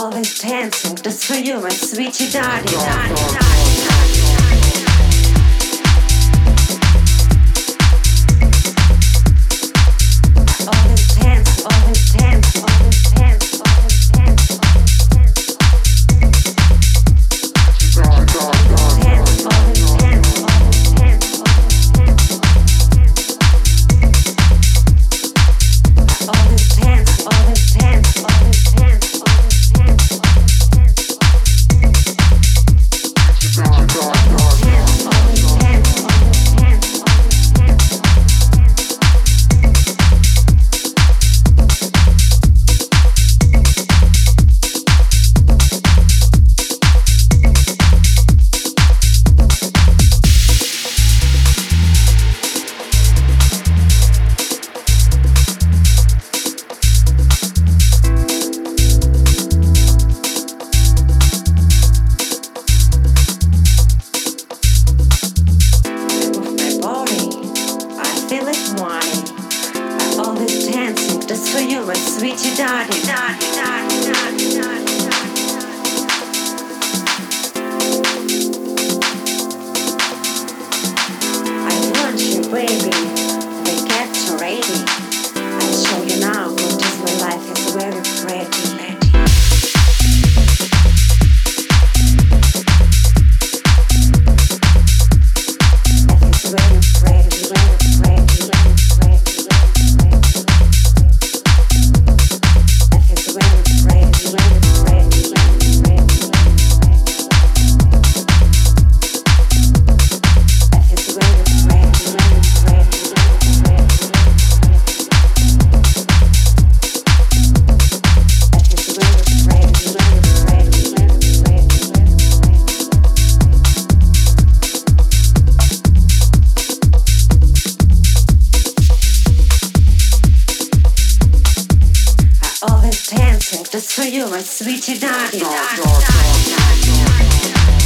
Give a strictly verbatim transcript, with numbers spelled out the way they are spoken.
always dancing just for you, my sweetie darling. Always dance, always dance, always dance, always dance, always dance. Always dance, always dance, always dance, always dance. Always dance, always dance, always dance, always dance, always dance. Just for you, my sweetie darling, darling, darling, darling, darling, I want you, baby. They get you ready. I'll show you now what is my life is very pretty. Dancing just for you, my sweetie darling. darling, darling, darling, darling, darling.